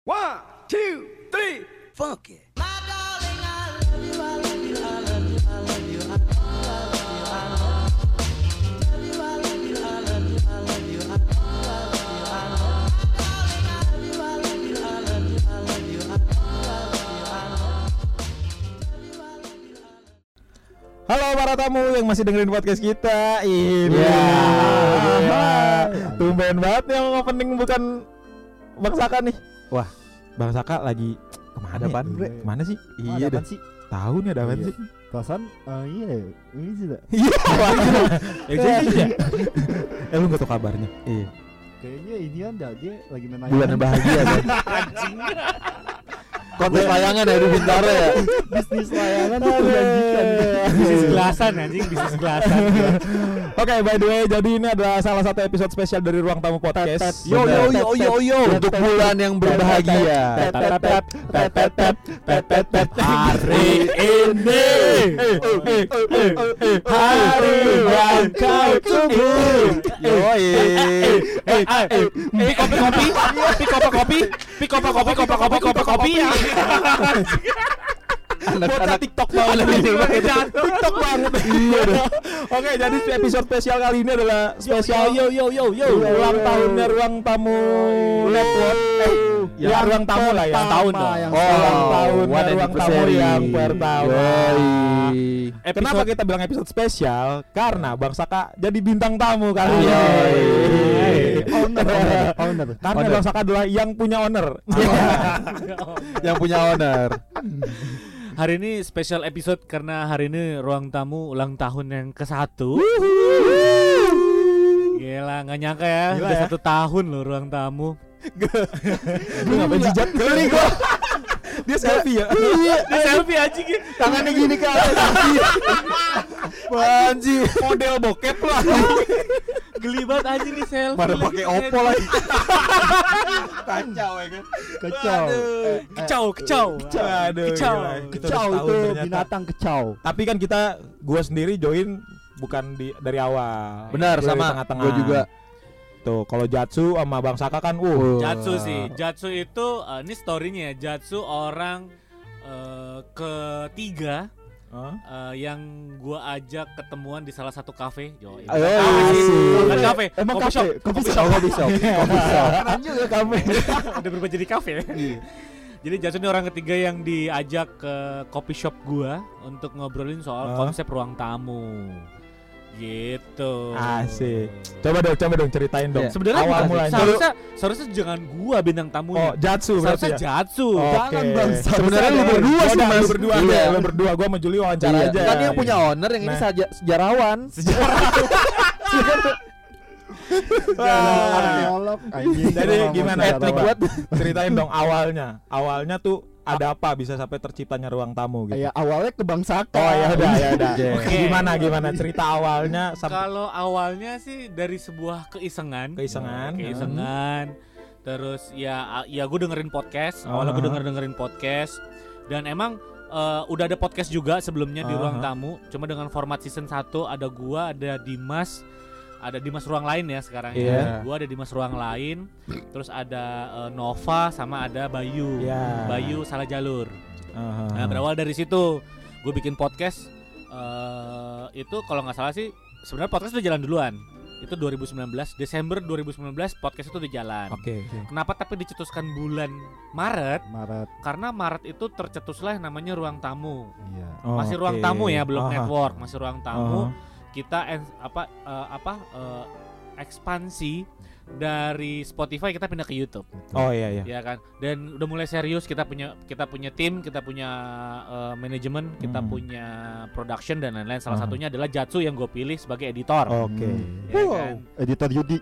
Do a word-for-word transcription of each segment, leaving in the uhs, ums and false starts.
One, two, three, funk it. Halo para tamu yang masih dengerin podcast kita. Ini yeah. Tumben banget yang opening bukan Bang Saka nih. Wah, Bang Saka lagi kemana Ada apaan, ya? Bre? Kemana sih? Iya, Iya ada dah. sih. Tahu nih ada apaan Iya. sih? Perasaan uh, iya, ini sih dah. Iya. Ya. Eh lu enggak tahu kabarnya? Iya. Kayaknya ini kan dah, dia lagi main Bulan layangan. bahagia kan. Konten layangan dari Bintaro ya. Bisnis layangan tuh menjanjikan. Bisnis gelasan anjing, bisnis gelasan. Oke, by the way, jadi ini adalah salah satu episode spesial dari Ruang Tamu Podcast. Yo yo yo yo yo untuk bulan yang berbahagia. Hari ini hari yang kau tunggu. Yoi. Pick kopi kopi, pick kopi kopi, pick kopi kopi kopi kopi kopi kopi. Anak-anak TikTok banget TikTok banget. Iya deh. Oke, jadi episode spesial kali ini adalah spesial Yo yo yo yo yo. ulang tahunnya Ruang Tamu Network. Eh, ya Ruang Tamu lah ya. Tahun dong. Yang Oh, Ulang tahun one Ruang Tamu anniversary. yang pertama. Yoi. Kenapa kita bilang episode spesial? Karena Bang Saka jadi bintang tamu kali ini. Yoi. Owner, owner, owner. Karena Owner. Bang Saka adalah yang punya owner. Yang punya owner. Hari ini special episode karena hari ini Ruang Tamu ulang tahun yang ke satu. Gila, nggak nyangka ya, Gila udah ya. satu tahun loh Ruang Tamu. Lu ngapain jijat? Geli gua. Dia selfie ya. Ini selfie anjing. Tangannya gini ke atas. Panji. Model bokep lah. Geli banget anjing nih selfie. Mana lagi. pakai Oppo lagi. Kacau ya kan. Kecau. Eh, Kecau, kecau. Aduh. Kecau. gila. Kita Kecau udah itu setahun ternyata. binatang kecau. Tapi kan kita gua sendiri join bukan di dari awal. Benar, Gua dari sama. tengah-tengah. Gua juga. Tuh, kalau Jatsu sama Bang Saka kan uh. Jatsu sih, Jatsu itu uh, ini story-nya ya. Jatsu orang uh, ketiga Hah? uh, yang gua ajak ketemuan di salah satu kafe. Yo, ini Ayo, kafe sih. asik. Bukan kafe, Emang coffee kafe, shop. coffee Coffee shop. shop. Coffee shop. Coffee shop. Keren juga kafe. Udah berubah jadi kafe. Jadi Jatsu ini orang ketiga yang diajak ke coffee shop gua untuk ngobrolin soal Hah? konsep ruang tamu. Gitu. Asik. Coba dong, coba dong ceritain dong. Iya. Sebenarnya awal bukan- mulanya. seharusnya seharusnya jangan gua bintang tamunya. Oh, Jatsu berarti Seharusnya ya. Jatsu. Oke. Jangan, Bang. Sebenarnya lu berdua Ya sih, udah, Mas. lu berdua Iya. aja, lu berdua. Gua sama Juli wawancara Iya. aja. Kan yang punya owner, yang ini Nah. saja sejarawan. Wah. Arkeolog. Anjing. Jadi Ngomong gimana? sejarah Etnik banget. buat ceritain dong awalnya. Awalnya tuh ada apa bisa sampai terciptanya Ruang Tamu gitu. Ya awalnya ke Bang Saka. Oh ya udah ya udah. Oke. Gimana gimana cerita awalnya sampai Kalau awalnya sih dari sebuah keisengan, keisengan. keisengan. Terus ya ya gue dengerin podcast. Awalnya gue Uh-huh. denger dengerin podcast. Dan emang eh, udah ada podcast juga sebelumnya di Ruang Uh-huh. Tamu. Cuma dengan format season satu ada gua, ada Dimas, ada Dimas Ruang Lain ya sekarang Iya. ya. Gua ada Dimas Ruang Lain. Terus ada eh, Nova sama ada Bayu. Iya. Bayu salah jalur. Uh-huh. Nah berawal dari situ gue bikin podcast. eh itu kalau nggak salah sih sebenarnya podcast itu jalan duluan. Itu dua ribu sembilan belas, Desember dua ribu sembilan belas podcast itu udah jalan. Oke. Kenapa tapi dicetuskan bulan Maret? Maret. Karena Maret itu tercetuslah yang namanya Ruang Tamu. Iya. Oh, Masih Ruang oke. Tamu ya, belum Aha. network, masih Ruang Tamu. Uh-huh. Kita en- apa eh, apa eh, ekspansi dari Spotify kita pindah ke YouTube. Oh iya iya. Ya kan, dan udah mulai serius kita punya kita punya tim, kita punya uh, manajemen, kita Hmm. punya production dan lain-lain. Salah Uh-huh. satunya adalah Jatsu yang gue pilih sebagai editor. Oke. Ya Wow. kan? Editor Yudi.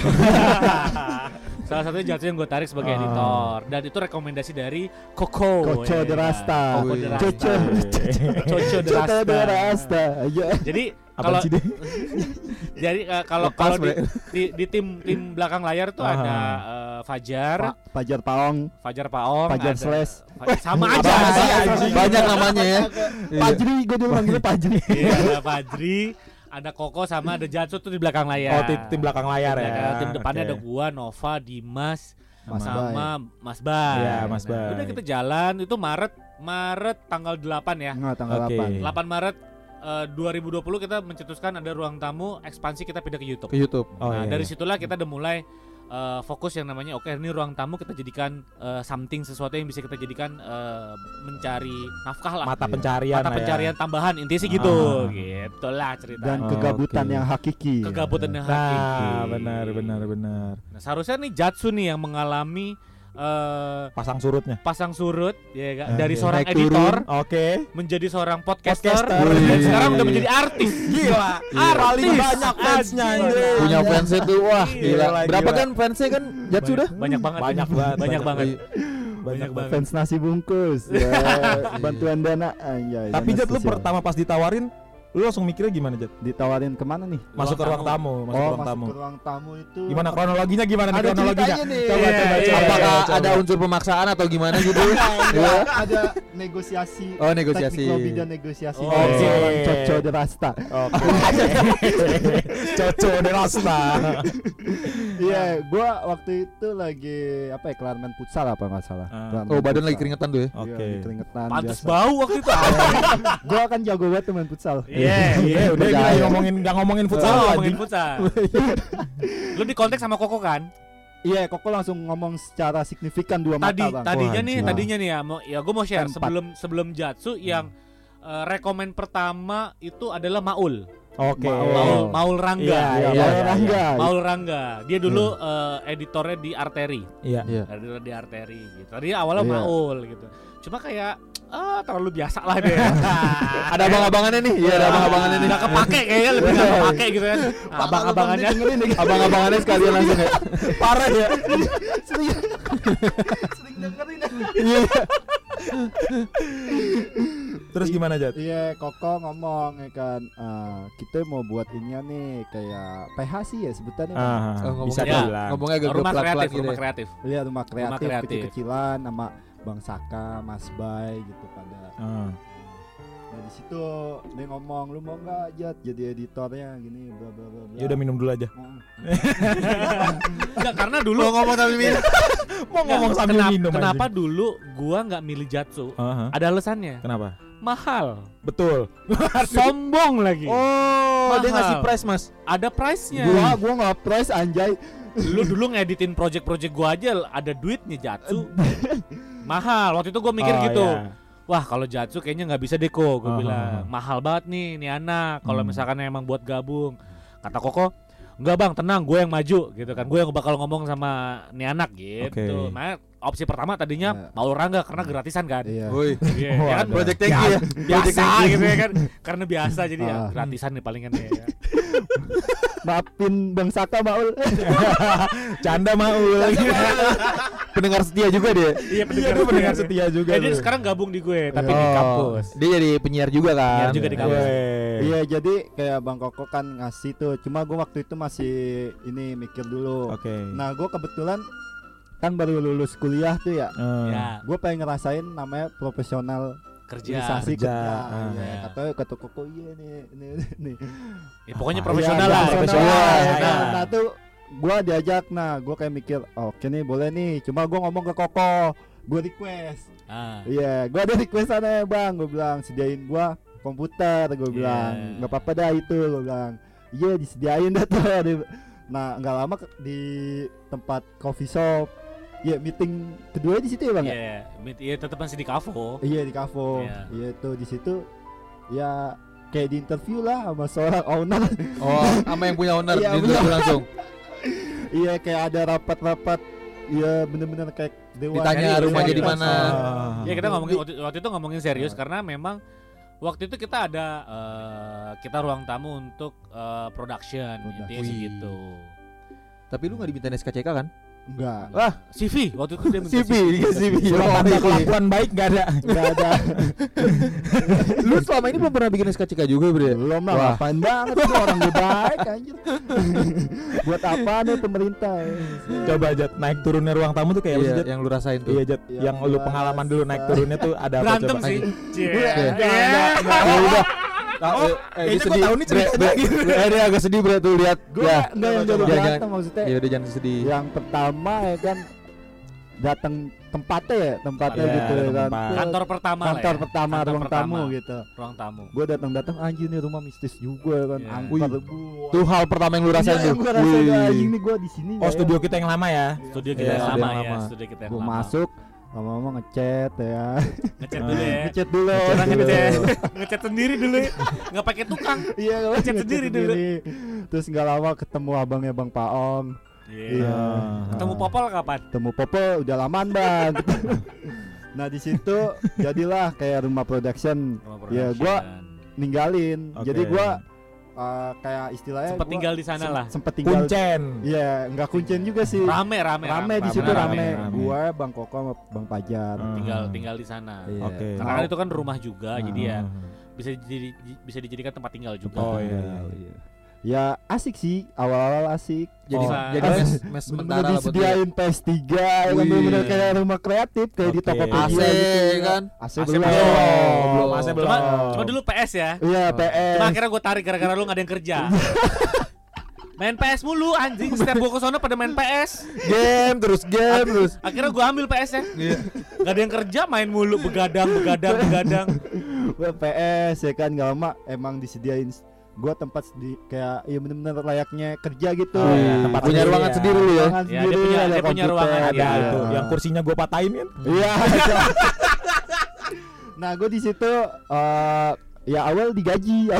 Salah satunya Jatsu yang gue tarik sebagai Ah. editor, dan itu rekomendasi dari Koko. Koco ya de kan? Rasta. Koko de Rasta. Coco. Coco de Coco Rasta. de Rasta. Iya. Jadi Apa kalau sih dia? jadi uh, kalau Lepas, kalau di, Bre. di, di tim tim belakang layar tuh Ah. ada uh, Fajar, Pa- Pajar Paong. Fajar Paong, Fajar ada- Slash. Fa- sama Apa aja. sih, sama aja. anjing? Banyak namanya ya. Iya. Pajri, gue dulu manggilnya Pajri. Iya, ada Fajri, ada Koko sama ada Jatsu tuh di belakang layar. Oh tim, tim belakang layar ya. Belakang, tim depannya Oke. ada gua, Nova, Dimas, Mas Bay. sama Mas Bay. Iya, Mas Nah, Bay. udah kita jalan itu Maret Maret tanggal delapan ya. Enggak, tanggal Oke. delapan. delapan Maret eh, dua ribu dua puluh kita mencetuskan ada ruang tamu ekspansi, kita pindah ke YouTube. Ke YouTube. Oh, Nah, iya, dari iya. situlah kita udah mulai eh, fokus yang namanya oke ini ruang tamu kita jadikan eh, something, sesuatu yang bisa kita jadikan eh, mencari nafkah lah. Mata pencarian Mata lah ya. pencarian tambahan, intinya sih gitu. Ah. Gitulah cerita. Dan Oh, kegabutan oke. yang hakiki. Kegabutan yang hakiki. Nah, benar benar benar. Nah, seharusnya nih Jatsu nih yang mengalami eh, Pasang surutnya. pasang surut ya kan? Oke. Dari seorang Naik editor Oke. menjadi seorang podcaster, Podcaster. dan Wih. sekarang udah menjadi artis. Gila. Artis. Paling banyak fansnya Anjir. anjir. Punya fansnya tuh wah Gila, gila. Berapa gila. kan fansnya kan Jatsu dah? Banyak banget. Banyak banget. Banyak banget. Banyak banget. Fans nasi bungkus. Ya, bantuan dana. Anjay, Tapi dana Jat, lu sosial. pertama pas ditawarin, lu langsung mikirnya gimana, Jat? Ditawarin kemana nih? Masuk ke ruang tamu, masuk ke Oh, ruang masuk tamu. ke ruang tamu itu. Gimana kronologinya gimana nih Ada kronologinya? ceritanya nih. Coba Iya, coba iya, coba. Apakah coba. ada unsur pemaksaan atau gimana gitu? Enggak, Iya. ada negosiasi. Oh, negosiasi. Teknik lobby dan negosiasi. Oh, dari oke. seorang Coco de Rasta. Oke. Coco de Rasta. Iya, gua waktu itu lagi apa ya, kelar main futsal apa nggak salah. Ah. Kelar Oh, main badan futsal. lagi keringetan tuh ya. Iya, Oke. lagi keringetan Pantes biasa. bau waktu itu. Gua kan jago banget tuh main futsal. Iya, Iya, udah kita Percaya. ngomongin enggak ngomongin futsal Oh, lagi. ngomongin futsal. Lu di kontak sama Koko kan? Iya, Koko langsung ngomong secara signifikan dua Tadi mata, Bang. tadinya Wah, nih, anjing. tadinya nih ya, mau ya gue mau share Empat. sebelum sebelum Jatsu yang eh, rekomen pertama itu adalah Maul. Oke. Maul Maul Rangga. Iya, Iya, iya, Maul iya, Rangga. Maul Rangga. Dia dulu eh, editornya di Arteri. Iya. Iya. Editor di Arteri gitu. Tadi awalnya Iya. Maul gitu. Cuma kayak ah terlalu biasa lah dia. Ada abang-abangannya nih. Iya, ada abang-abangannya nih. Nggak kepake kayaknya, lebih nggak kepake gitu kan. Nah, abang-abangannya Abang-abangannya sekalian langsung ya. Parah ya. Sering sering dengerin. Terus gimana, Jat? Iya, Koko ngomong ya kan, "Ah, kita mau buat inian nih kayak P H sih ya sebutannya. Bang." Ah, Oh, bisa ngomongnya- dibilang. Ngomongnya agak rumah pelan-pelan kreatif, gitu rumah ya. kreatif. Iya, rumah kreatif, kreatif. kecil-kecilan sama Bang Saka, Mas Bay gitu pada. Ah. Nah, di situ dia ngomong, "Lu mau enggak Jat jadi editornya gini bla bla bla bla." Ya udah minum dulu aja. Heeh. Enggak, karena dulu Mau ngomong tapi minum. Mau ngomong sambil kenapa, minum kenapa aja. dulu gua nggak milih Jatsu? Aha. Ada alasannya. Kenapa? Mahal. Betul. Sombong lagi. Oh, dia Mahal. ngasih price, Mas. Ada price-nya. Gua gua enggak price anjay. Lu dulu ngeditin project-project gua aja ada duitnya Jatsu. Mahal. Waktu itu gua mikir Oh, gitu. iya. Wah, kalau Jatsu kayaknya nggak bisa deh kok, gua Ah, bilang. ah, ah. Mahal banget nih nih anak. Kalau Hmm. misalkan emang buat gabung. Kata Koko, "Enggak Bang, tenang, gue yang maju gitu kan. Gue yang bakal ngomong sama nih anak gitu." Oke. Makanya opsi pertama tadinya Iya. Maul Rangga karena gratisan kan. Iya. Woi. Iya, ya kan? Waduh. Project thank you ya. Biasa gitu ya kan. Karena biasa jadi ya Ah. gratisan nih palingan ya. Maafin Bang Saka Maul. Canda Maul. Pendengar setia juga dia. Iya, Iya, dia pendengar setia juga. Jadi tuh. sekarang gabung di gue tapi Oh. di kampus. Dia jadi penyiar juga kan. Penyiar juga di kampus. Weh. Iya, jadi kayak Bang Koko kan ngasih tuh. Cuma gua waktu itu masih ini mikir dulu. Oke. Nah, gua kebetulan kan baru lulus kuliah tuh ya. Eh, Ya, Gue pengen ngerasain namanya profesional kerja. organisasi kerja. kerja. Ah. Iya, Ya. katanya kata Koko iya nih, nih, nih. Ya, pokoknya Apa? profesional Iya, lah. profesional. Profesional, Ya, ya. kan? Nah tuh gue diajak, nah gue kayak mikir, oke nih boleh nih. Cuma gue ngomong ke Koko, gue request. Ah. Iya, gue ada request sana ya bang. Gue bilang sediain gue komputer. Gue Iya. bilang nggak apa-apa dah itu. Gue bilang iya disediain dah tuh. Nah nggak lama ke- di tempat coffee shop. Iya meeting kedua di situ ya bang. ya? Iya, mit- iya tetap masih di Kavo. Iya di Kavo. Iya. Iya tuh di situ ya kayak di interview lah sama seorang owner. Oh, sama yang punya owner Iya, di bener. interview langsung. Iya kayak ada rapat-rapat. Iya bener-bener kayak dewan. Ditanya Iya, rumahnya iya, di mana. Ah. Ya kita ngomongin waktu, waktu itu ngomongin serius Ah. karena memang waktu itu kita ada eh, kita ruang tamu untuk eh, production, Production. intinya sih Wih. gitu. Tapi lu enggak dimintain S K C K kan? Enggak. Wah, C V waktu itu dia minta C V, dia C V. Surat tanda kelakuan baik gak ada. Enggak ada. Lu selama ini belum pernah bikin S K C K juga, Bre? Belum lah, Wah. ngapain banget tuh orang gue baik anjir. Buat apa nih pemerintah? Coba Jat, naik turunnya ruang tamu tuh kayak apa Iya, sih, Jat? yang lu rasain tuh. Iya Jat, Yang yang lu luas, pengalaman dulu naik ah. turunnya tuh ada apa berantem coba? sih. Iya. Cie. Enggak, Iya. enggak, enggak. Ya udah. Nah, Oh, eh, eh, kayaknya dia gua sedih. tahu nih ceritanya Bre, bre, bre, eh, dia agak sedih Bre tuh lihat. Gue Ya. enggak yang jadi Jangan- berantem jangan- maksudnya. Ya udah jangan sedih. Yang pertama ya kan datang tempatnya ya, tempatnya Iya, gitu ya kan. tempat. Kantor pertama lah Kantor ya. pertama, Kantor ruang pertama. tamu gitu. Ruang tamu. Gue datang-datang anjir nih rumah mistis juga ya kan. Iya. Angker Wih. bu. Tuh hal pertama yang lu rasain Iya, tuh. yang gua rasain Wih. anjing nih gue di sini. Oh, studio kita yang lama ya. Studio kita Iya, yang studio lama yang ya, lama. studio kita yang Gue lama. masuk, lama-lama ngechat ya. Ngechat dulu ya. Ngechat dulu. Orang Gitu. ngechat, ngechat sendiri dulu. Enggak pakai tukang. Iya, gue Ngechat sendiri dulu. Terus nggak lama ketemu abangnya Bang Paong. Iya. Ketemu Popol kapan? Ketemu Popo udah lamaan bang. Nah di situ jadilah kayak rumah production. Rumah Ya production. gua ninggalin. Oke. Jadi gua uh, kayak istilahnya Sempet gua tinggal di sana sem- lah. Sempet tinggal. Kuncen. Iya, nggak kuncen juga sih. Rame rame Rame di situ rame, rame. rame. Gua, Bang Koko, sama Bang Pajar. Hmm. Tinggal tinggal di sana. Iya. Oke. Karena kan itu kan rumah juga, Nah. jadi ya bisa jadi bisa dijadikan tempat tinggal juga. Oh, iya. iya. Ya asik sih, awal-awal asik. Jadi Oh. jadi As- mes, mes sementara Bener-bener buat dia. disediain P S tiga ya kan, Wih. bener-bener kayak rumah kreatif kayak di Oke. Tokopedia A C gitu kan? A C A C belum. belum. Belum, A C belum. Cuma, cuma dulu P S ya. Iya, P S. Cuma akhirnya gue tarik gara-gara lu gak ada yang kerja. Main P S mulu anjing, setiap gue kesana pada main P S. Game terus game terus. Akhirnya gue ambil P S-nya. Gak ada yang kerja, main mulu, begadang, begadang, begadang. Gua P S ya kan, nggak lama emang disediain gua tempat di kayak ya bener-bener layaknya kerja gitu. Oh, iya, tempat Punya sendiri ruangan ya. sendiri lu ya. Ruangan Ya, dia sendiri, punya- ada dia punya komputer, ruangan Ada dia. itu yang kursinya gua patahin kan. Iya. Nah, gua di situ eh, ya awal digaji.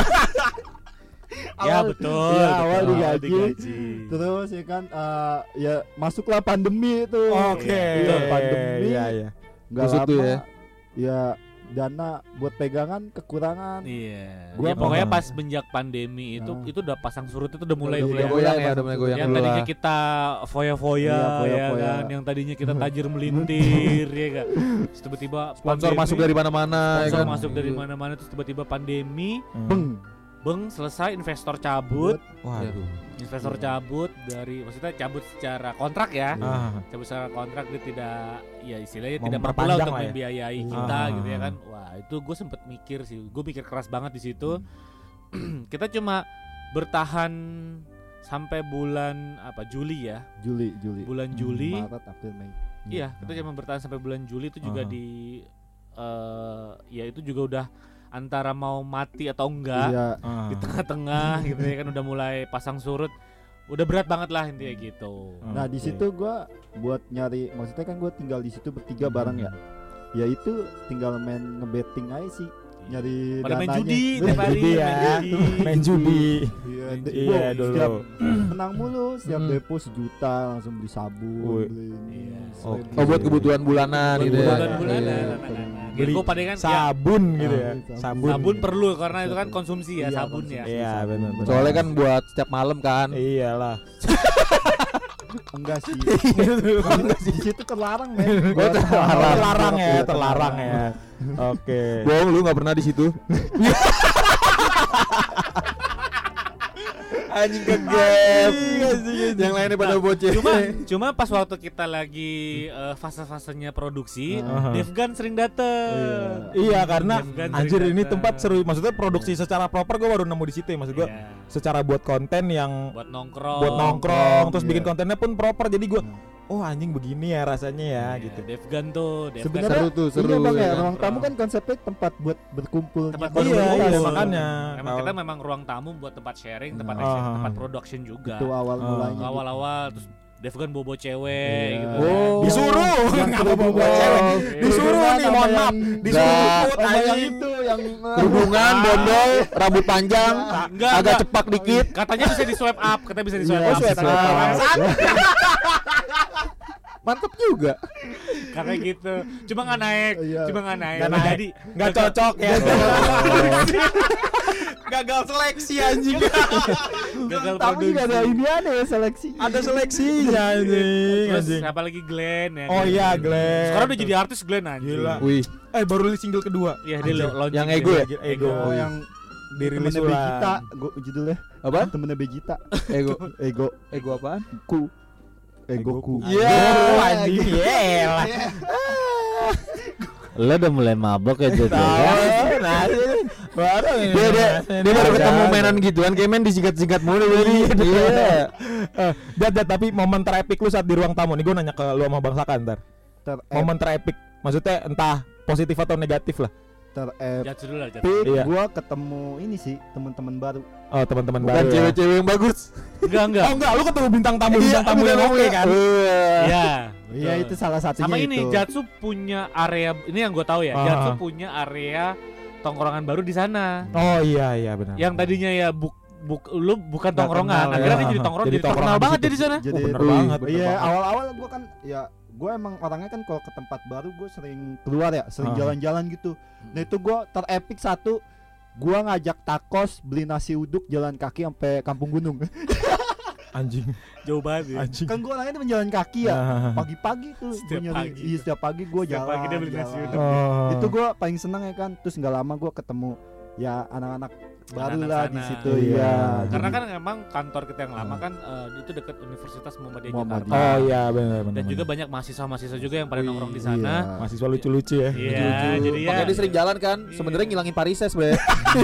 Ya Awal- betul. Iya, betul. awal digaji. digaji. Terus ya kan eh, ya masuklah pandemi itu. Oke. Iya, pandemi. Iya, iya. Nggak Busuk lama. tuh ya. Ya dana buat pegangan kekurangan. Iya. Gua Ya, pokoknya apa? pas menjak pandemi itu Nah. itu udah pasang surut itu udah mulai Udah tuh ya. mulai goyang ya, pasang udah mulai surut. goyang Yang dulu tadinya lah. kita foya-foya Iya, ya foya-foya. kan, yang tadinya kita tajir melintir ya kan. Terus tiba-tiba Sponsor pandemi, masuk dari mana-mana ya sponsor kan. masuk dari mana-mana terus tiba-tiba pandemi, Beng. beng selesai investor cabut, Waduh. investor cabut dari maksudnya cabut secara kontrak ya. Ah. Cabut secara kontrak dia tidak ya istilahnya Mau tidak mampu lah memperpanjang untuk lah ya. membiayai Iya. kita Ah. gitu ya kan. Wah, itu gue sempet mikir sih. Gue mikir keras banget di situ. Hmm. Kita cuma bertahan sampai bulan apa Juli ya. Juli, Juli. Bulan Juli. Maret, April, Mei. Iya, kita cuma bertahan sampai bulan Juli itu juga Aha. di eh ya itu juga udah antara mau mati atau enggak Iya. Ah. di tengah-tengah gitu ya kan udah mulai pasang surut. Udah berat banget lah intinya gitu. Nah, di Oke. situ gua buat nyari, maksudnya kan gua tinggal di situ bertiga bareng ya. Ya itu tinggal main ngebetting aja sih, nyari Pada main dananya. judi Main tiap hari, judi ya. main judi. Main judi. Iya, Main- de- iya, gua dulu. setiap menang mulu, setiap Hmm. depo sejuta langsung beli sabun, Wih. beli ini, Iya. selain Oke. itu. Oh buat kebutuhan bulanan Buat gitu ya. kebutuhan bulanan, Iya. anak-anak. Beli Ya, gua pada kan ya, Sabun gitu ya. Sabun. Sabun. sabun perlu karena itu kan konsumsi ya Iya, sabun ya. konsumsi. Iya, benar. benar. Soalnya kan buat setiap malam kan. Iyalah. Enggak sih. Enggak sih. Di situ terlarang, men. Oh, terlarang, terlarang ya, Iya, terlarang ya. Oke. Bohong lu nggak pernah di situ. Anjing ke game. Yang lainnya pada boceh. Cuma cuma pas waktu kita lagi eh, fase-fasenya produksi, Aha. Devgan sering dateng. Iya, karena Devgan sering anjir ini dateng. tempat seru. Maksudnya produksi secara proper gue baru nemu di situ ya. Maksud gue Iya. secara buat konten yang Buat nongkrong. buat nongkrong, terus iya. bikin kontennya pun proper. Jadi gue, oh anjing begini ya rasanya ya Iya, gitu. Devgan tuh, Devgan Sebenarnya Seru tuh, seru, iya bang ya ya, kan? ruang tamu kan konsepnya tempat buat berkumpul. tempat Iya, berkumpul. iya, makanya. Emang Kalau- kita memang ruang tamu buat tempat sharing, tempat Nah. action, Ah. tempat production juga. itu awal Ah. mulanya. gitu. Awal-awal terus Devgan bobo cewek Iya. gitu. Oh, disuruh, Yang ngapa kerudungan. bawa cewek? Disuruh Kerudungan nih, sama mohon maaf, yang- disuruh Nggak. jemput Sama yang anjing. itu yang Kerudungan, bondol, rambut panjang, Enggak, agak enggak. cepak dikit. Katanya bisa di swipe up, katanya bisa di swipe Iya, up. swipe up. Bangsat. Mantep juga. Kayak gitu. Cuma nggak naik, Iya. cuma nggak naik. Nggak Nggak naik. jadi. Nggak cocok ya. Gagal seleksi anjing. Gagal Tamu juga ada produksi. ini ada ya seleksi. Ada seleksinya anjing, Terus anjing. siapa lagi Glenn ya? Oh kan? iya, Glenn. Sekarang udah jadi artis Glenn anjing. Gila. Wih, Eh baru rilis single kedua. Iya dia Anjir. lo- launching Yang dia. ego ya? Ego. Oh yang Dirilis temennya ulang. Begita, gua judulnya. apa? Temennya Begita. Ego. Ego, Ego apaan? ku. Egoku. Iya, anjing. Yelah. Lo udah mulai mabok ya Jod. Tahu, Nah, baru ini. Dia dia dia baru ketemu mainan gituan, kayak main disikat-sikat mulu jadi. Iya. Eh, dat, dat, tapi momen terepik lu saat di ruang tamu nih, gue nanya ke lu sama Bang Saka ntar. Ter- Momen terepik, maksudnya entah positif atau negatif lah. Ter-epic Jatuh dulu lah, jatuh. Iya. gua ketemu ini sih teman-teman baru. Oh, teman-teman Bukan baru. Ya. cewek-cewek yang bagus. Enggak, enggak. Oh enggak, lu ketemu bintang tamu bintang tamu yang oke kan? Iya. Iya itu salah satunya Sama itu. ini Jatsu punya area, ini yang gue tahu ya. Ah. Jatsu punya area tongkrongan baru di sana. Oh iya iya benar. Yang tadinya ya buk buk lu bukan Nggak tongkrongan, kenal, akhirnya ya. dia jadi tongkrong, Jadi jadi terkenal tongkrongan banget di dia di sana. Jadi Oh, bener Wih, banget, bener Iya, banget. awal-awal gua kan ya gue emang orangnya kan kalau ke tempat baru gue sering keluar ya, sering Ah. jalan-jalan gitu. Nah itu gue terepik satu, gue ngajak takos beli nasi uduk jalan kaki sampai Kampung Gunung. Anjing, Jauh banget ya. anjing. Kan gue orangnya temen jalan kaki ya, Ah. pagi-pagi tuh. Setiap gua nyari- pagi. Iya setiap pagi gue Setiap jalan. pagi dia beli nasi jalan. uduk. Oh. Itu gue paling seneng ya kan. Terus nggak lama gue ketemu ya anak-anak baru Anak-anak lah sana. di situ Iya. ya. Karena Jadi- kan emang kantor kita yang lama kan eh, itu dekat Universitas Muhammadiyah Muhammadiyah. Jakarta. Oh iya benar benar. Dan juga banyak mahasiswa-mahasiswa juga yang pada Wih, nongkrong di iya. sana. mahasiswa lucu-lucu ya. Iya, jadi ya. Makanya dia sering jalan kan, Iya. sebenarnya ngilangin parises, Be.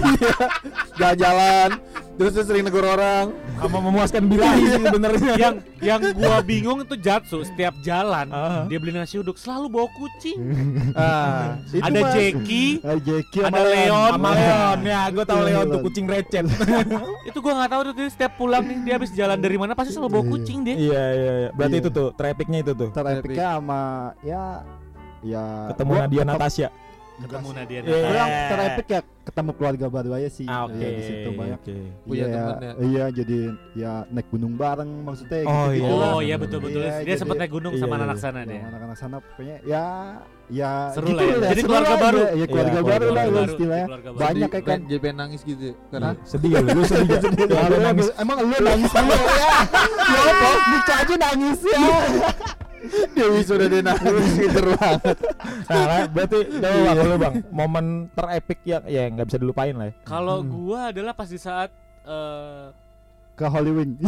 Jalan-jalan, terus dia sering negur orang. Sama memuaskan birahi sih sebenarnya. yang yang gua bingung itu Jatsu setiap jalan Ah. dia beli nasi uduk selalu bawa kucing. Ah, itu Ada Mas. Jackie, Eh, Jackie ada sama Leon. Sama Leon ya, gue tahu Leon tuh kucing recet. itu gua nggak tahu tuh dia setiap pulang nih dia habis jalan dari mana pasti selalu bawa kucing dia. Iya iya iya. Berarti Iya. itu tuh trafficnya itu tuh. Terepiknya sama ya ya Ketemu gua Nadia ketemu- Natasha. Ketemu Nadia. Iya. Gua yang terepik ya ketemu keluarga baru aja sih. Ah, oke. Iya, di situ banyak. Oke. Punya Iya, temen ya. iya jadi ya naik gunung bareng maksudnya Oh, gitu iya. Oh iya betul betul. Iya, dia jadi- sempat naik gunung iya, sama iya. anak sana dia. anak-anak sana pokoknya ya ya Seru gitu lah ya. Jadi seru keluarga lah, baru. ya, ya keluarga Iya, baru keluarga lah baru, lah istilahnya keluarga baru. banyak kayak kan. Jadi pengen nangis gitu. Karena Sedih ya lu, sedih ya. Ya, lu nangis. Emang lu nangis sama ya? Ya apa? Nika aja nangis ya. Dewi sudah dia nangis gitu banget. Nah, lah, berarti coba bang, lu bang, momen terepik yang ya nggak bisa dilupain lah ya. Kalau gua adalah pas di saat eh, Ke Hollywood.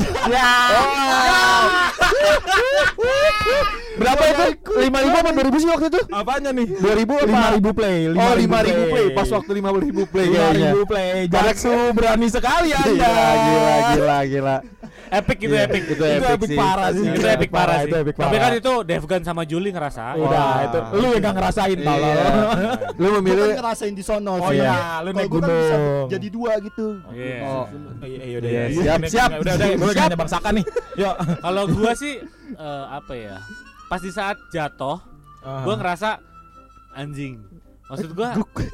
Berapa itu? lima ribu apa dua ribu sih waktu itu? Apanya nih? dua ribu apa? lima ribu play. Oh, lima ribu play. Pas waktu lima ribu play lima kayaknya. ribu play. Jatsu berani sekali Anda. Gila, gila, gila, gila. epic gitu Iya, epic. itu Itu epic epic sih. parah sih. Itu epic parah sih. Itu epic Tapi parah. kan itu Devgan sama Juli ngerasa. Udah Wah. itu lu yang gak ngerasain Iya. tolong. Lu Gua memilih kan ngerasain di sono Oh sih. iya, lu Kalau naik gua kan bisa gunung. jadi dua gitu. Iya. Oh. Iya, iya, udah, Iya, iya. siap, Udah, siap. Udah, udah, gue nanya Bang Saka nih. Yuk. Kalau gua sih eh, apa ya? Pas di saat jatuh, gua ngerasa anjing. Maksud gua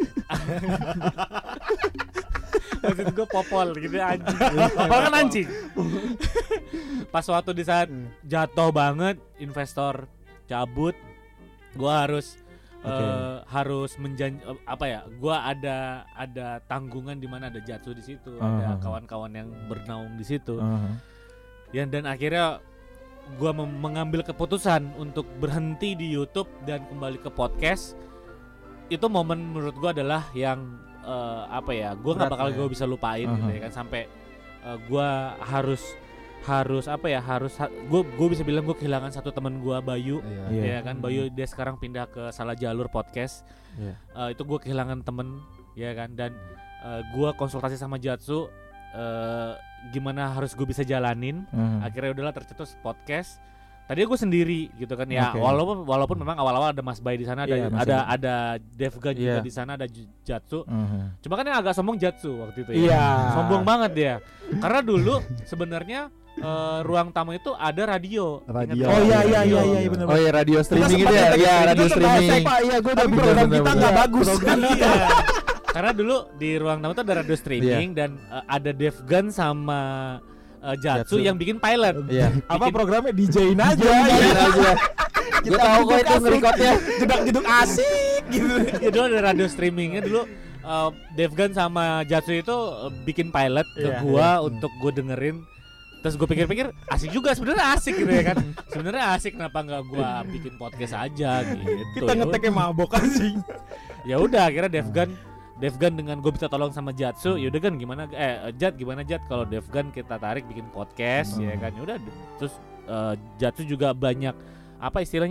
Maksud gua popol gitu anjing. Popol kan anjing. Pas waktu di saat jatuh banget, investor cabut, gua harus eh, Oke. harus menjan eh, apa ya? Gua ada ada tanggungan di mana ada Jatsu di situ, ada Uh-huh. kawan-kawan yang bernaung di situ. Uh-huh. Ya, dan akhirnya gua mem- mengambil keputusan untuk berhenti di YouTube dan kembali ke podcast. Itu momen menurut gua adalah yang eh, apa ya? Gua nggak Berat bakal ya. gua bisa lupain gitu Uh-huh. ya kan, sampai eh, gua harus harus apa ya? Harus ha- gua gua bisa bilang gua kehilangan satu teman gua, Bayu. Iya. Ya kan, Bayu dia sekarang pindah ke Salah Jalur Podcast. Iya. Eh, itu gua kehilangan temen ya kan, dan eh, gua konsultasi sama Jatsu eh, gimana harus gue bisa jalanin. Uh-huh. Akhirnya udahlah tercetus podcast. Tadi gue sendiri gitu kan ya, Oke. walaupun walaupun memang awal-awal ada Mas Bay di sana, ada Iya, Mas ada Bay. ada Devgan juga Iya. di sana, ada J- Jatsu. Uh-huh. Cuma kan yang agak sombong Jatsu waktu itu ya. Iya. Sombong banget dia. Karena dulu sebenarnya eh, ruang tamu itu ada radio. Radio. Ingat Oh nggak? iya iya Radio. iya iya benar. Oh iya, radio streaming Kita itu ya. sempat Iya, kita radio sempat streaming. Pak, iya gue udah Tapi bilang program kita kita nggak nggak bagus. Iya. Karena dulu di ruang tamu itu ada radio streaming dan eh, ada Devgan sama eh, Jatsu Jatsu. yang bikin pilot. Iya. Apa programnya D J-in aja. Iya aja. Gue tahu kok itu ngerekodnya. Jeduk-jeduk asik gitu. Ya dulu ada radio streamingnya dulu. eh, Devgan sama Jatsu itu eh, bikin pilot ke Iya, gua untuk gue dengerin. Terus gue pikir-pikir asik juga, sebenarnya asik gitu ya kan. Sebenarnya asik, kenapa nggak gua bikin podcast aja gitu. Kita ngeteknya mabok sih. Ya udah akhirnya Devgan Devgan dengan gue bisa tolong sama Jatsu, yaudah kan gimana eh Jat gimana Jat kalau Devgan kita tarik bikin podcast Hmm. ya kan. Ya udah terus eh, Jatsu juga banyak apa istilahnya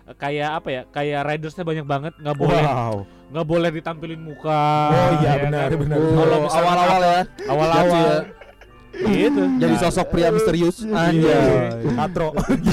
kayak apa ya? Kayak ridersnya banyak banget, nggak boleh Wow. nggak boleh ditampilin muka. Oh iya ya benar kan? benar. Oh, Kalau misalkan awal-awal ya. Awal-awal ya. gitu. Jadi Nah, sosok pria misterius. Anjay. Iya. Katro.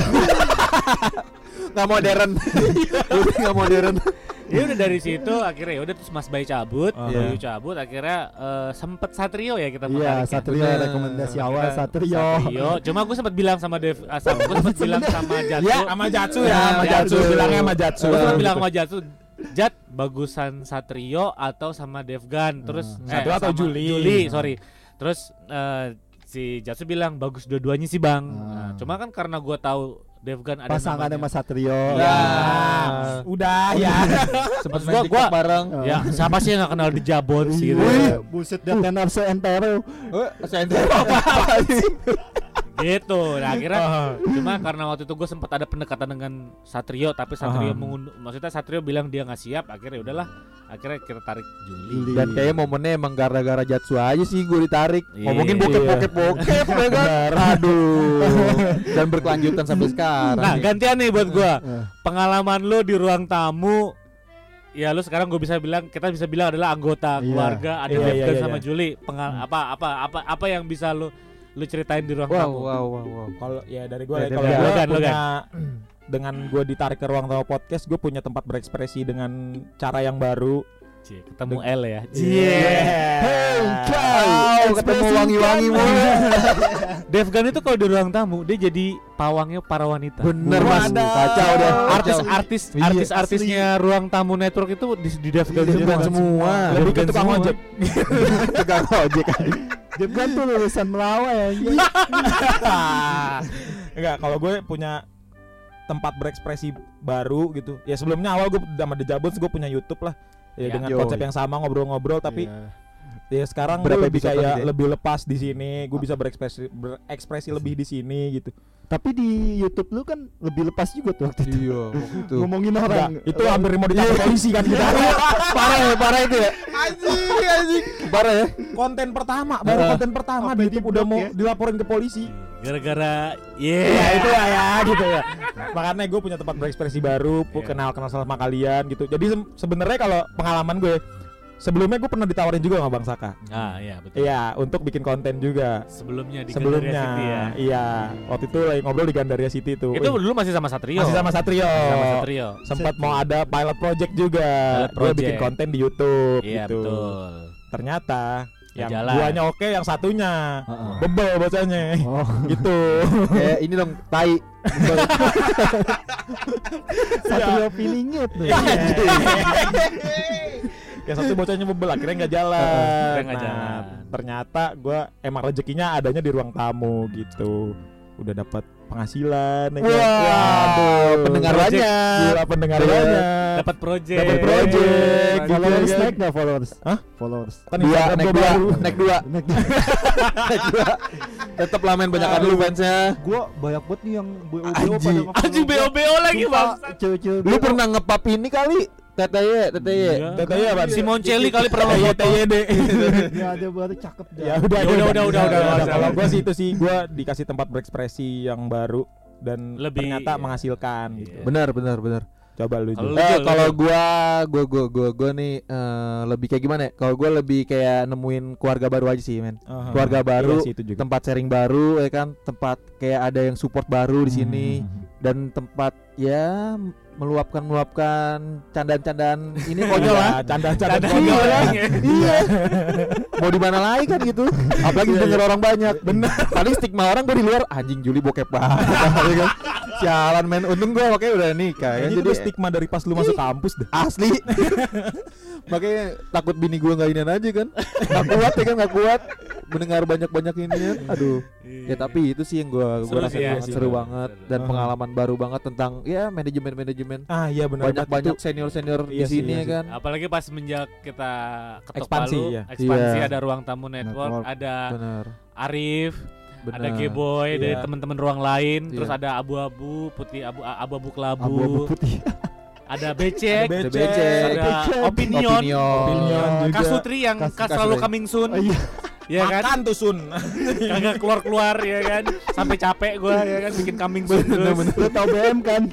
Enggak modern. Udah enggak modern. ya udah dari situ akhirnya ya udah terus Mas Bay cabut, Oh, Bayu iya. cabut akhirnya eh, sempet Satrio ya kita Iya, menariknya. Satrio Bener. rekomendasi Kita- awal Satrio. Satrio. Cuma gue sempat bilang sama Dev, ah, sama gue sempat bilang sama Jatsu. Ya, sama Jatsu ya, Ya, sama Jatsu Jatsu. bilangnya sama Jatsu. Gue sempat Betul. bilang sama Jatsu, Jat bagusan Satrio atau sama Devgan. Terus Hmm. eh, Satrio atau sama Juli. Juli, sorry. Terus eh, si Jatsu bilang bagus dua-duanya sih bang. Hmm. Nah, cuma kan karena gue tahu Devgan ada Pasangannya namanya. Mas Satrio. Ya. Udah ya. Sempat Maksud main gua- TikTok gua- bareng. Ya siapa sih yang gak kenal di Jabon sih gitu. Wih, buset dia tenar seentero. Oh, saya apa sih? Gitu. Nah akhirnya Ah. cuma karena waktu itu gue sempat ada pendekatan dengan Satrio, tapi Satrio Ah. mengunduh, maksudnya Satrio bilang dia nggak siap. Akhirnya udahlah. Akhirnya kita tarik Juli. Juli. Dan kayaknya momennya emang gara-gara Jatsu aja sih gue ditarik. Iya. Ngomongin bokep-bokep-bokep ya kan. Aduh. Dan berkelanjutan sampai sekarang. Nah gantian nih buat gue. Eh. Pengalaman lu di ruang tamu. Ya lu sekarang gue bisa bilang, kita bisa bilang adalah anggota Iya. keluarga. Ada Iya, Devgan iya, iya, sama iya. Juli. Pengal apa apa apa apa yang bisa lu lu ceritain di ruang Wow, tamu? wow, wow, wow. Kalau ya dari gue Ya, kalau dari gue Logan, punya dengan gue ditarik ke ruang tamu podcast, gue punya tempat berekspresi dengan cara yang baru. Cie, ketemu L ya. Hey, Wow, ketemu wangi-wangi mulu. Devgan itu kalau di ruang tamu dia jadi pawangnya para wanita. Bener mas, Wadah. kacau deh. Artis-artis Iya, artis-artisnya ruang tamu network itu di, di Devgan Devgan semua. semua. Lebih ke Devgan tukang semua. ojek. Tukang ojek aja. Devgan tuh lulusan Melawai anjing. Enggak, kalau gue punya tempat berekspresi baru gitu. Ya sebelumnya awal gue sama The Jabons gue punya YouTube lah. Ya, Ya, dengan yoi. konsep yang sama ngobrol-ngobrol tapi Iya. ya sekarang gue Berapa lebih episode kayak lagi deh? lebih lepas di sini. Gue bisa berekspresi berekspresi lebih di sini gitu. Tapi di YouTube lu kan lebih lepas juga tuh waktu itu. Iya, waktu itu. Ngomongin Enggak, orang. itu hampir mau ditangkap polisi kan kita. Parah ya, parah itu ya. Anjing, anjing. Parah ya. Konten pertama, baru Ah. konten pertama Sampai di YouTube udah di-blok mau ya. dilaporin ke polisi. Gara-gara Ya yeah. itu lah ya gitu ya. Makanya gue punya tempat berekspresi baru, pu- Iya. kenal-kenal sama kalian gitu. Jadi se- sebenarnya kalau pengalaman gue sebelumnya gue pernah ditawarin juga sama Bang Saka. Ah iya betul. Iya, untuk bikin konten juga. Sebelumnya di Sebelumnya, Gandaria City ya. iya. Waktu itu lagi ngobrol di Gandaria City tuh. Itu Wih, dulu masih sama Satrio. masih sama Satrio. Sama Satrio. Sempat mau ada pilot project juga. Pilot Gue bikin project. konten di YouTube Iya gitu. betul. Ternyata Nggak yang jalan. duanya oke, yang satunya Heeh. bebel bacanya. Oh, Gitu. Kayak ini dong, tai. Satrio Pilingit tuh. Iya. Yang satu bocahnya bebel akhirnya nggak jalan. Akhirnya nggak Nah, jalan. ternyata gue emang rezekinya adanya di ruang tamu gitu. Udah dapat penghasilan. ya kan? Waduh, pendengar Project. banyak. Gila pendengar banyak. Dapat project. Dapat project. Followers Gitu, naik nggak followers? Hah? Followers. Kan Dua, Instagram naik gua dua, baru. naik dua, Naik. naik dua. Tetep lah main banyakan dulu fansnya. Gua banyak banget nih yang B O B O Anjing. pada nge-follow Anjing B O B O lagi Sumpah, bang. cewek-cewek Lu B O. pernah ngepap ini kali? T T Y, T T Y. Tetenya apa? Si Moncelli kali pernah T Y foto. T Y D. Ya ada baru cakep dah. Ya udah, Ya udah, udah, udah, udah, udah. Kalau gue sih itu sih gue dikasih tempat berekspresi yang baru dan Lebih- ternyata menghasilkan gitu. Iya. Benar, benar, benar. Coba lu Kalau Jul. lu- Eh, Jul, kalau lu- gua, gua, gua, gua, gua nih eh, lebih kayak gimana ya? Kalau gua lebih kayak nemuin keluarga baru aja sih, men. Aha. Keluarga baru, Iya sih, itu juga. tempat sharing baru, ya kan? Tempat kayak ada yang support baru di sini Hmm. dan tempat ya meluapkan meluapkan candaan-candaan ini konyol lah. Iya, canda-canda Canda konyol konyol. ya. Iya. Mau di mana lagi kan gitu. Apalagi denger orang banyak. Bener. Paling stigma orang gua di luar anjing Juli bokep banget. Ya kan? Sialan men. Untung gua makanya udah nikah kan. Ini Jadi tuh stigma dari pas lu masuk kampus deh. asli. Makanya takut bini gua enggak inian aja kan. Enggak kuat ya kan, enggak kuat mendengar banyak-banyak ini ya. Aduh. Ya tapi itu sih yang gua Seru gua rasa sih ya, banget sih. seru banget dan Aha. pengalaman baru banget tentang ya manajemen-manajemen. Ah iya benar. Banyak-banyak senior-senior di Iya sih, sini iya ya sih. kan. Apalagi pas menjak kita ketok Ekspansi, palu, ya. ekspansi Iya. ada ruang tamu network, Network. ada Benar. Arif, Benar. ada G-Boy dari Iya. teman-teman ruang lain, Iya. terus ada abu-abu, putih abu abu-abu kelabu, Abu-abu putih. ada becek, Ada Ada becek, becek. ada Becek. opinion, Opinion. Opinion juga. Kasutri yang Kas- kas Kasutri. selalu coming soon. Oh, iya. Ya kan? Makan tuh Sun. Kagak keluar-keluar ya kan. Sampai capek gua ya kan bikin kambing sun terus. Lu tau B M kan?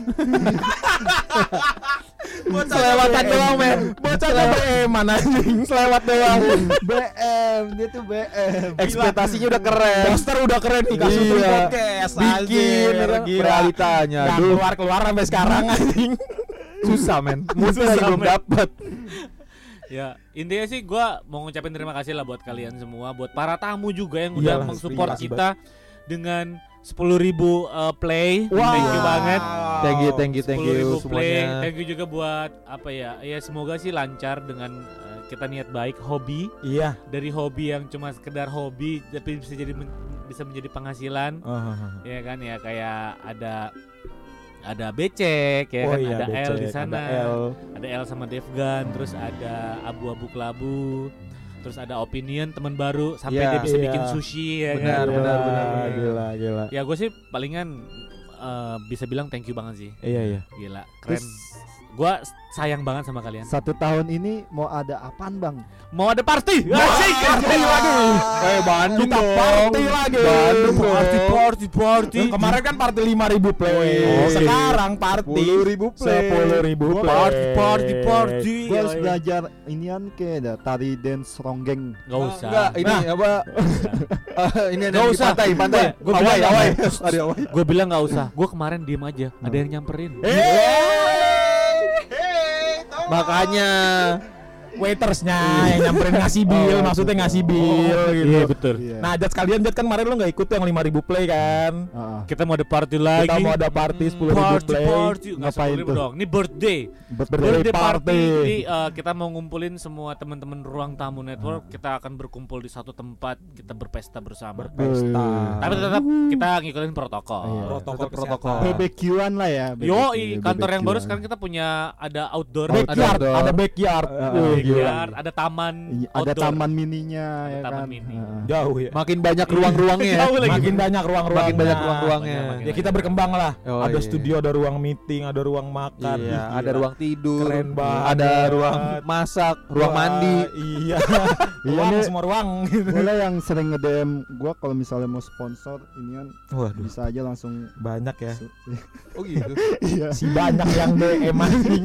Selewatan doang men. Bocah B M mana anjing, selewat doang. B M, dia tuh B M. Ekspektasinya udah keren. Poster udah keren nih kasih Iya. podcast. Bikin Anjir, kan? gila. Realitanya. Nggak Aduh, keluar-keluar sampai sekarang anjing. susah men. Mungkin Susah, lagi belum men. dapet. Ya, intinya sih gua mau ngucapin terima kasih lah buat kalian semua, buat para tamu juga yang udah Iyalah, mensupport terima kasih kita dengan sepuluh ribu uh, play. Wow. Thank you banget. Thank you, thank you, thank sepuluh ribu you play. semuanya. Thank you juga buat apa ya? Ya semoga sih lancar dengan uh, kita niat baik hobi. Iya. Dari hobi yang cuma sekedar hobi tapi bisa jadi men- bisa menjadi penghasilan. Ya kan ya kayak ada ada Becek ya Oh kan, iya, ada L di Becek, sana. ada L. Ada L sama Devgan, terus ada Abu-Abu Kelabu, terus ada Opinion teman baru sampai Iya, dia bisa iya. bikin sushi ya Benar, kan. benar, Gila, benar. Gila, gila. Ya gue sih palingan eh, bisa bilang thank you banget sih. Iya, iya. Gila, keren. Terus Gue sayang banget sama kalian. satu tahun ini mau ada apaan bang? Mau ada party? Asik. Eh Bandung Kita dong. party lagi. Bandung Party, dong. party, party. Yang kemarin kan party lima ribu play. Oh, Sekarang party sepuluh ribu play. sepuluh ribu play. Party, party, party. Gue harus Yoi. belajar inian ke dah, tari dance ronggeng. Gak usah. Enggak, ini apa? Eh, ini ada Nggak di usah. pantai, pantai. Gua- gua Awai, bilang- awai. Ada awai. Gue bilang gak usah. Gue kemarin diem aja. Ada yang nyamperin. Makanya Waitersnya yang nyamperin ngasih bill, maksudnya ngasih bill gitu. Iya betul. Iya. Nah, Jat sekalian Jat kan kemarin lu enggak ikut tuh yang lima ribu play kan? Heeh. Kita mau ada party lagi. Kita mau ada party sepuluh ribu Party, play. party. Nggak Ngapain sepuluh ribu tuh? dong. Ini birthday. Birthday Birthday party. party. Jadi uh, kita mau ngumpulin semua teman-teman Ruang Tamu Network. Kita akan berkumpul di satu tempat. Kita berpesta bersama. Pesta. Tapi tetap kita ngikutin protokol. Iya. Protokol Tetap protokol. kesehatan. B B Q-an lah ya. B B Q, Yo, kantor yang baru B B Q-an. sekarang kita punya ada outdoor, Backyard, Ada ada backyard. Uh, Wih, gila. backyard, ada taman, Iya, ada outdoor. taman mininya Ada ya taman kan. mini. Heeh. Jauh ya. makin banyak ruang-ruangnya ya. Jauh lagi. Makin banyak ruang-ruang. Makin banyak ruang-ruangnya. Makin Ya kita berkembang lah. Oh, ada iya. studio, ada ruang meeting, ada ruang makan. Iya, Ih, ada gila. ruang tidur, Keren banget. ada ruang masak, ruang Wah, mandi. Iya. Iya ruang nih. semua ruang gitu. Boleh yang sering nge-D M gua kalau misalnya mau sponsor inian Waduh, bisa aja langsung. Banyak ya. oh gitu. Iya. Si banyak yang D M anjing.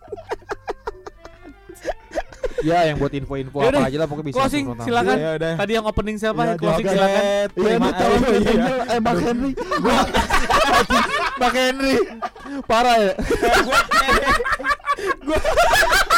Ya, yang buat info-info Yaudah, apa aja lah pokoknya bisa. closing, langsung silakan. Ya udah. Tadi yang opening siapa? Ya, Closing joget. silakan. Iya ini Terima- tolong iya, iya. eh Bang Henry. Bang Henry, parah ya. Gua